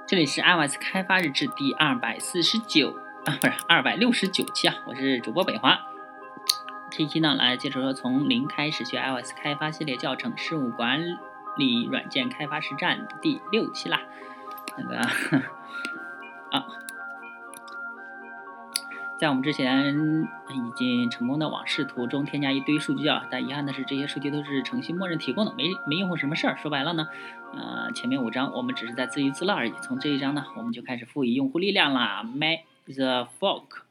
这里是 iOS 开发日志第249不是269期啊，我是主播北华。这一期呢，来接着说从零开始学 iOS 开发系列教程事务管理软件开发实战第6期啦。在我们之前已经成功的往视图中添加一堆数据啊，但遗憾的是这些数据都是程序默认提供的，没用过什么事儿。说白了呢，前面5章我们只是在自娱自乐而已。从这一章呢，我们就开始赋予用户力量啦。Make the fork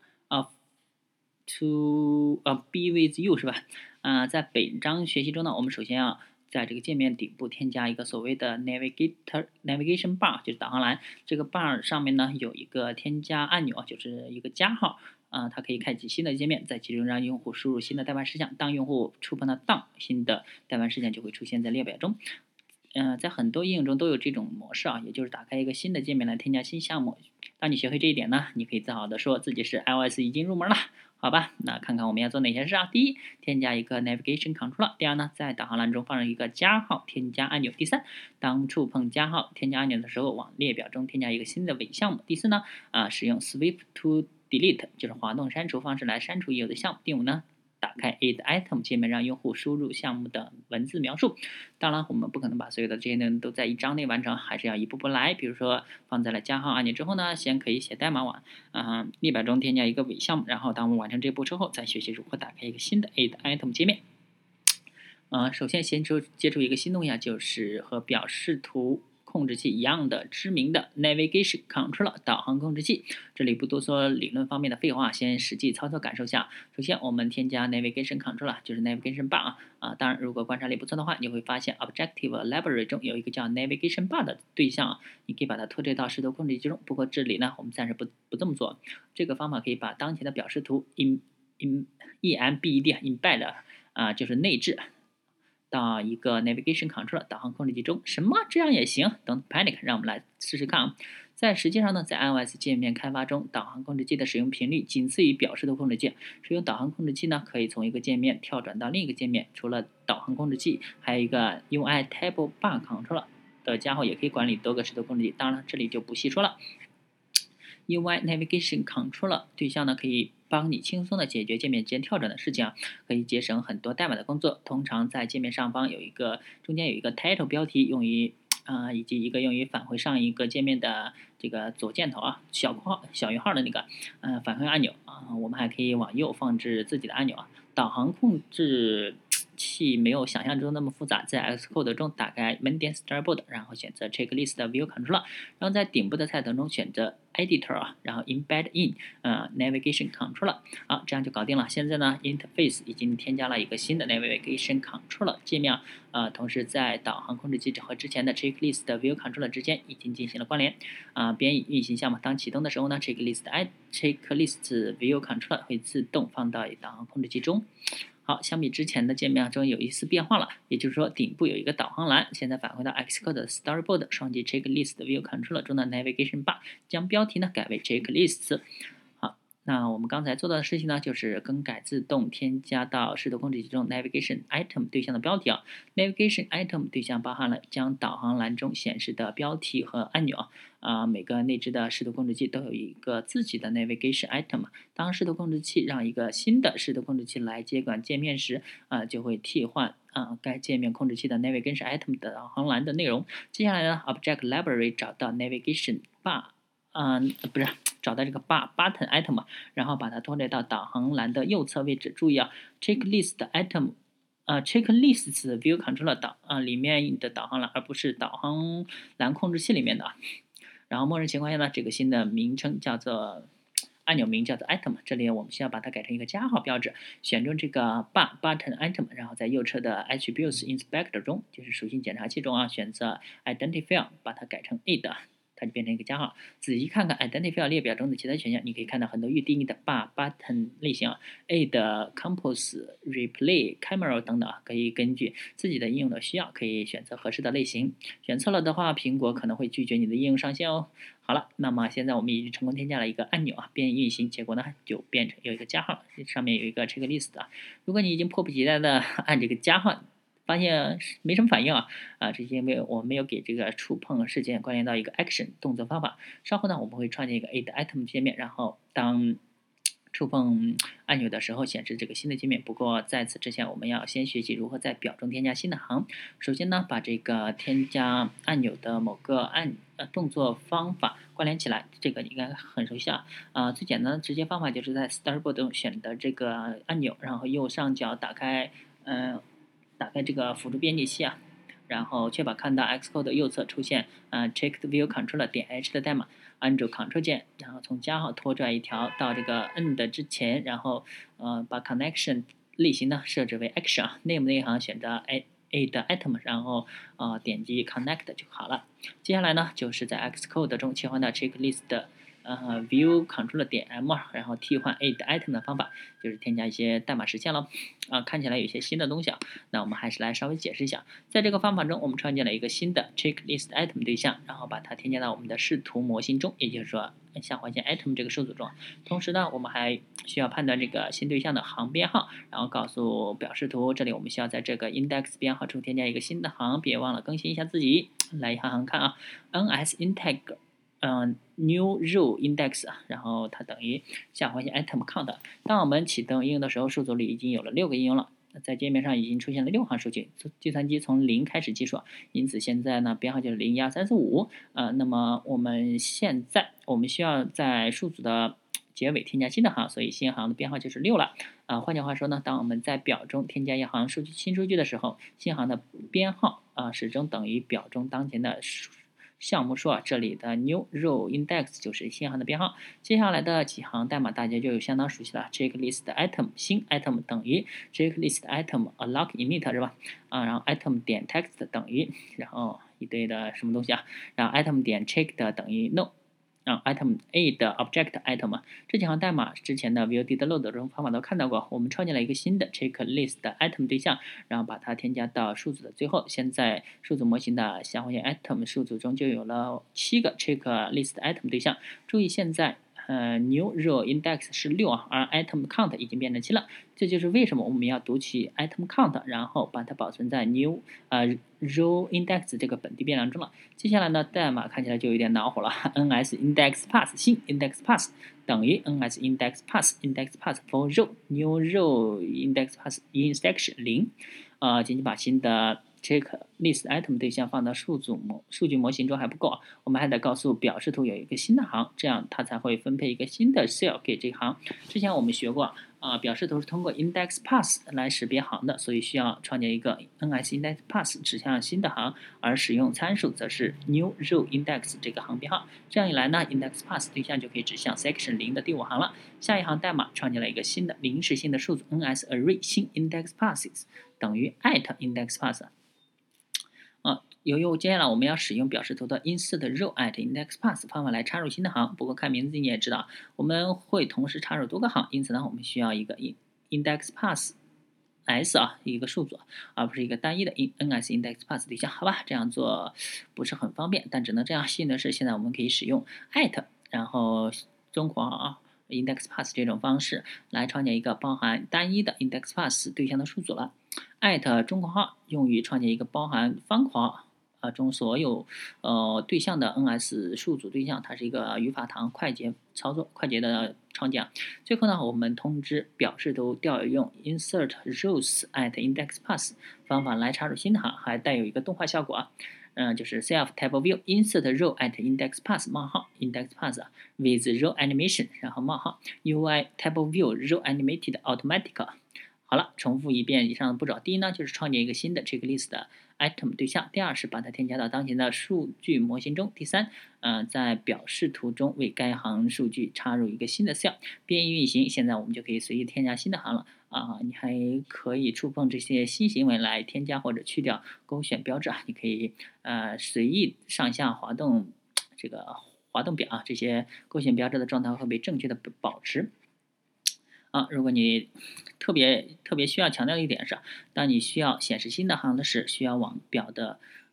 to be with you 是吧？在本章学习中呢，我们首先要在这个界面顶部添加一个所谓的 navigation bar， 就是导航栏。这个 bar 上面呢有一个添加按钮，就是一个加号。它可以开启新的界面，在其中让用户输入新的代办事项。当用户触碰到 done， 新的代办事项就会出现在列表中。在很多应用中都有这种模式啊，也就是打开一个新的界面来添加新项目。当你学会这一点呢，你可以自豪地说自己是 iOS 已经入门了。好吧，那看看我们要做哪些事啊？第一，添加一个 navigation controller。第二呢，在导航栏中放上一个加号添加按钮。第三，当触碰加号添加按钮的时候，往列表中添加一个新的伪项目。第四呢，使用 swipe to delete， 就是滑动删除方式来删除已有的项目。第五呢，打开 add item 界面，让用户输入项目的文字描述。当然，我们不可能把所有的这些内容都在一章内完成，还是要一步步来。比如说，放在了加号按钮之后呢，先可以写代码往列表中添加一个伪项目，然后当我们完成这步之后，再学习如何打开一个新的 add item 界面。首先接触一个新东西啊，就是和表示图控制器一样的知名的 Navigation Controller 导航控制器。这里不多说理论方面的废话，先实际操作感受下。首先我们添加 Navigation Controller， 就是 Navigation Bar 当然如果观察力不错的话，你会发现 Objective Library 中有一个叫 Navigation Bar 的对象，你可以把它拖拽到视图控制器中。不过这里呢，我们暂时不这么做。这个方法可以把当前的表示图 embed 就是内置到一个 Navigation Controller 导航控制器中。什么？这样也行？Don't panic， 让我们来试试看啊。在实际上呢，在 iOS 界面开发中，导航控制器的使用频率仅次于表示图控制器。使用导航控制器呢，可以从一个界面跳转到另一个界面。除了导航控制器，还有一个 UI Table Bar Controller 的加号也可以管理多个视图控制器。当然了，这里就不细说了。UI Navigation Controller 对象呢，可以帮你轻松的解决界面间跳转的事情可以节省很多代码的工作。通常在界面上方中间有一个 title 标题，以及一个用于返回上一个界面的这个左箭头小于号的那个返回按钮我们还可以往右放置自己的按钮导航控制器没有想象中那么复杂，在 Xcode 中打开门点 Storyboard， 然后选择 Checklist View Controller， 然后在顶部的菜单中选择 Editor 然后 Embed in Navigation Controller， 这样就搞定了。现在呢 Interface 已经添加了一个新的 Navigation Controller 界面同时在导航控制器和之前的 Checklist View Controller 之间已经进行了关联编译运行项目。当启动的时候呢 Checklist View Controller 会自动放到导航控制器中。好，相比之前的界面中有一丝变化了，也就是说顶部有一个导航栏，现在返回到 Xcode 的 Storyboard 双击 Checklist View Controller 中的 Navigation Bar， 将标题呢改为 Checklists。好，那我们刚才做到的事情呢，就是更改自动添加到视图控制器中 Navigation Item 对象的标题Navigation Item 对象包含了将导航栏中显示的标题和按钮每个内置的视图控制器都有一个自己的 Navigation Item。当视图控制器让一个新的视图控制器来接管界面时，就会替换该界面控制器的 Navigation Item 的导航栏的内容。接下来呢 ，Object Library 找到 Navigation Bar，找到这个 Button Item 然后把它拖拽到导航栏的右侧位置。注意Checklist Item。Checklists View Controller 里面的导航栏，而不是导航栏控制器里面的然后默认情况下呢，这个新的名称叫做按钮名叫做 Item， 这里我们需要把它改成一个加号标志，选中这个 Button Item， 然后在右侧的 Attributes Inspector 中，就是属性检查器中选择 Identifier， 把它改成 add， 它就变成一个加号。仔细看看 Identifier 列表中的其他选项，你可以看到很多预定义的 Button 类型add Compose、Replay、Camera 等等可以根据自己的应用的需要，可以选择合适的类型。选错了的话，苹果可能会拒绝你的应用上线哦。好了，那么现在我们已经成功添加了一个按钮编译运行，结果呢就变成有一个加号，上面有一个 checklist 如果你已经迫不及待的按这个加号发现没什么反应这是因为我没有给这个触碰事件关联到一个 action 动作方法。稍后呢，我们会创建一个 add item 界面，然后当触碰按钮的时候显示这个新的界面。不过在此之前，我们要先学习如何在表中添加新的行。首先呢，把这个添加按钮的某个动作方法关联起来，这个你应该很熟悉最简单的直接方法就是在 Storyboard 中选择这个按钮，然后右上角打开这个辅助编辑器然后确保看到 Xcode 右侧出现checked view controller 点 h 的代码，按住 Ctrl 键，然后从加号拖拽一条到这个 end 之前，然后把 connection 类型呢设置为 action，name 那一行选择 add item， 然后点击 connect 就好了。接下来呢就是在 Xcode 中切换到 checklist 的view controller 点 m， 然后替换 add item 的方法就是添加一些代码实现了看起来有一些新的东西那我们还是来稍微解释一下。在这个方法中，我们创建了一个新的 checklist item 对象，然后把它添加到我们的视图模型中，也就是说下划线 item 这个数组中。同时呢，我们还需要判断这个新对象的行编号，然后告诉表示图，这里我们需要在这个 index 编号处添加一个新的行，别忘了更新一下自己。来一行行看ns integ new row index 然后它等于下划线 item count。当我们启动应用的时候，数组里已经有了6个应用了，在界面上已经出现了6行数据，计算机从0开始计数，因此现在呢编号就是0、1、2、3、4、5。那么我们需要在数组的结尾添加新的行，所以新行的编号就是6了。换句话说呢，当我们在表中添加一行新数据的时候，新行的编号始终等于表中当前的项目数这里的 new row index 就是新行的编号。接下来的几行代码大家就有相当熟悉了 checklist item 新 item 等于 checklist item alloc init 是吧然后 item 点 text 等于然后一堆的什么东西然后 item 点 checked 等于 no。item a 的 object item 这几行代码之前的 view did load 中方法都看到过。我们创建了一个新的 checklist item 对象，然后把它添加到数组的最后。现在数组模型的下划线 item 数组中就有了7个 checklist item 对象。注意现在new row index 是6而 item count 已经变成7了。这就是为什么我们要读取 item count， 然后把它保存在 new row index 这个本地变量中了。接下来呢，代码看起来就有点恼火了，ns index pass 新 index pass 等于 ns index pass for row new row index pass in section 0。仅仅把新的checklist item 对象放到数据模型中还不够我们还得告诉表示图有一个新的行，这样它才会分配一个新的 cell 给这行。之前我们学过表示图是通过 index pass 来识别行的，所以需要创建一个 ns index pass 指向新的行，而使用参数则是 new row index 这个行编号。这样一来呢 index pass 对象就可以指向 section 0的第5行了。下一行代码创建了一个新的临时性的数组 ns array 新 index passes 等于 @index pass。由于接下来我们要使用表示图的 insert row @index pass 方法来插入新的行，不过看名字你也知道，我们会同时插入多个行，因此呢，我们需要一个 index pass s 一个数组，而不是一个单一的 ns index pass 对象，好吧？这样做不是很方便，但只能这样。幸运的是，现在我们可以使用然后中括号index pass 这种方式来创建一个包含单一的 index pass 对象的数组了。中括号用于创建一个包含方括号中所有对象的 ns 数组对象，它是一个语法堂快捷操作、快捷的创建。最后呢，我们通知表示图调用 insert rows @index pass 方法来插入新的行，还带有一个动画效果就是 self type view insert row @index pass 冒号 index pass with row animation 然后冒号 UI type view row animated automatic。好了，重复一遍以上的步骤。第一呢，就是创建一个新的 checklist 的 item 对象；第二是把它添加到当前的数据模型中；第三，在表示图中为该行数据插入一个新的 cell。编译运行，现在我们就可以随意添加新的行了你还可以触碰这些新行为来添加或者去掉勾选标志你可以随意上下滑动这个滑动表这些勾选标志的状态会被正确的保持。如果你特别需要强调的一点是，当你需要显示新的行的时，需要往表的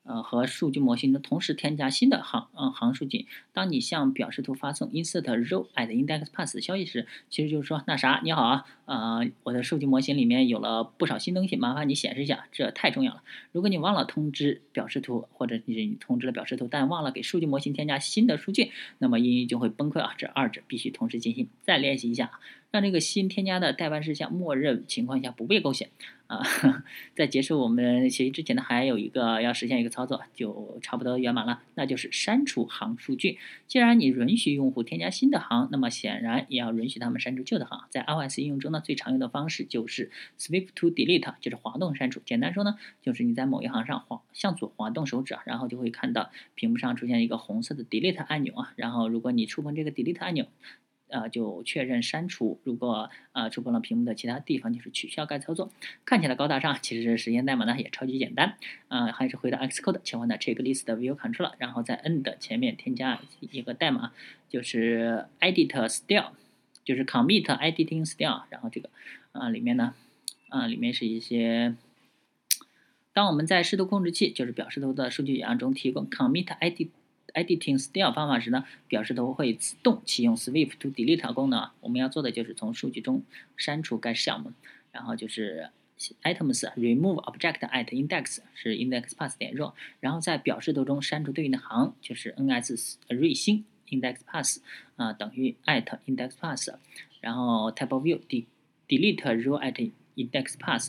和数据模型中同时添加新的行数据。当你向表示图发送 insert row at index path 消息时，其实就是说那啥，你好啊，我的数据模型里面有了不少新东西，麻烦你显示一下，这太重要了。如果你忘了通知表示图，或者你通知了表示图，但忘了给数据模型添加新的数据，那么英语就会崩溃啊！这二者必须同时进行。再练习一下，让这个新添加的待办事项默认情况下不被勾选啊。在结束我们学习之前呢，还有一个要实现一个操作，就差不多圆满了，那就是删除行数据。既然你允许用户添加新的行，那么显然也要允许他们删除旧的行。在 iOS 应用中呢，最常用的方式就是 Swift to Delete， 就是滑动删除。简单说呢，就是你在某一行上向左滑动手指，然后就会看到屏幕上出现一个红色的 Delete 按钮啊。然后如果你触碰这个 Delete 按钮，就确认删除。如果触碰了屏幕的其他地方，就是取消该操作。看起来高大上，其实实现代码呢也超级简单。还是回到 Xcode 切换到 Checklist View Controller，然后在 end 前面添加一个代码，就是 edit style， 就是 commit editing style。然后这个里面呢里面是一些。当我们在视图控制器，就是表示图的数据源中提供 commit editing style 方法时呢，表示图会自动启用 Swift to Delete 功能。我们要做的就是从数据中删除该项目，然后就是 items remove object at index 是 index path 点 row， 然后在表示图中删除对应的行，就是 ns 瑞星 index path 等于 at index path， 然后 type of view delete row at index path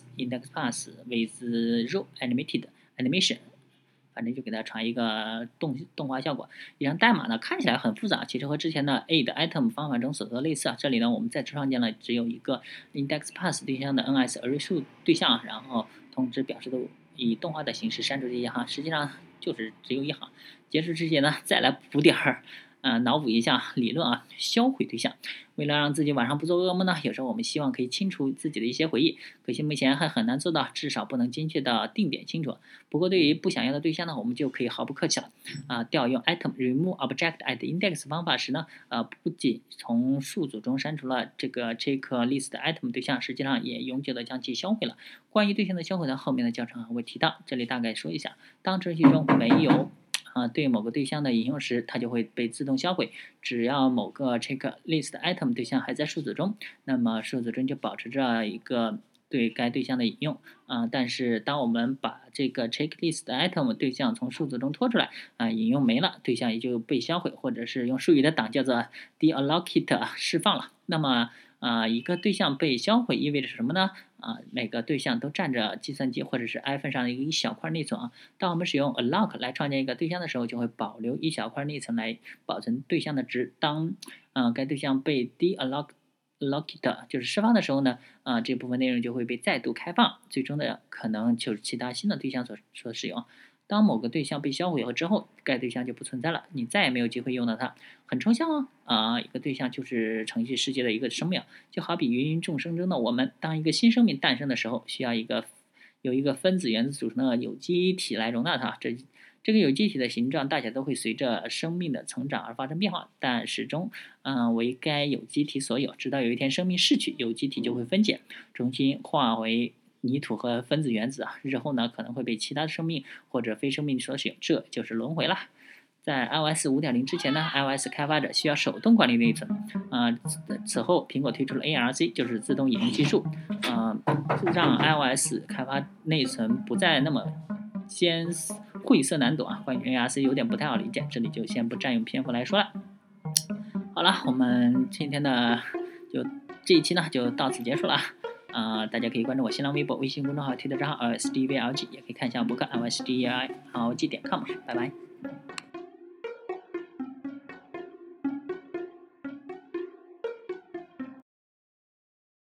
with row animation， 反正就给它传一个动画效果。以上代码呢看起来很复杂，其实和之前的 add item 方法中所做的类似啊。这里呢我们再创建了只有一个 index path 对象的 ns array 数对象，然后通知表示图以动画的形式删除这一行，实际上就是只有一行。结束之前呢再来补点儿。脑补一下理论啊，销毁对象。为了让自己晚上不做噩梦呢，有时候我们希望可以清除自己的一些回忆，可惜目前还很难做到，至少不能精确的定点清除。不过对于不想要的对象呢，我们就可以毫不客气了调用 item remove object at index 方法时呢，不仅从数组中删除了这个 checklist item 对象，实际上也永久的将其销毁了。关于对象的销毁呢，后面的教程还会提到，这里大概说一下，当程序中没有对某个对象的引用时，它就会被自动销毁。只要某个 checklist item 对象还在数组中，那么数组中就保持着一个对该对象的引用但是当我们把这个 checklist item 对象从数组中拖出来引用没了，对象也就被销毁，或者是用术语的档叫做 deallocate 释放了。那么一个对象被销毁意味着什么呢？每个对象都占着计算机或者是 iPhone 上的一小块内存当我们使用 alloc 来创建一个对象的时候，就会保留一小块内存来保存对象的值。当该对象被 deallocate 就是释放的时候呢，这部分内容就会被再度开放，最终的可能就是其他新的对象所使用。当某个对象被销毁后之后，该对象就不存在了，你再也没有机会用到它。很抽象一个对象就是程序世界的一个生命，就好比芸芸众生中的我们，当一个新生命诞生的时候，需要由一个分子原子组成的有机体来容纳它。这个有机体的形状、大小都会随着生命的成长而发生变化，但始终为该有机体所有。直到有一天生命逝去，有机体就会分解，重新化为泥土和分子原子日后呢可能会被其他生命或者非生命所使用，这就是轮回了。在 iOS 5.0之前呢 ，iOS 开发者需要手动管理内存此后苹果推出了 ARC， 就是自动引用技术让 iOS 开发内存不再那么晦涩难懂关于 ARC 有点不太好理解，这里就先不占用篇幅来说了。好了，我们今天的这一期呢就到此结束了大家可以关注我新浪微博、微信公众号、推特账号 LSDVLG， 也可以看一下博客 LSDVLG.com， 拜拜。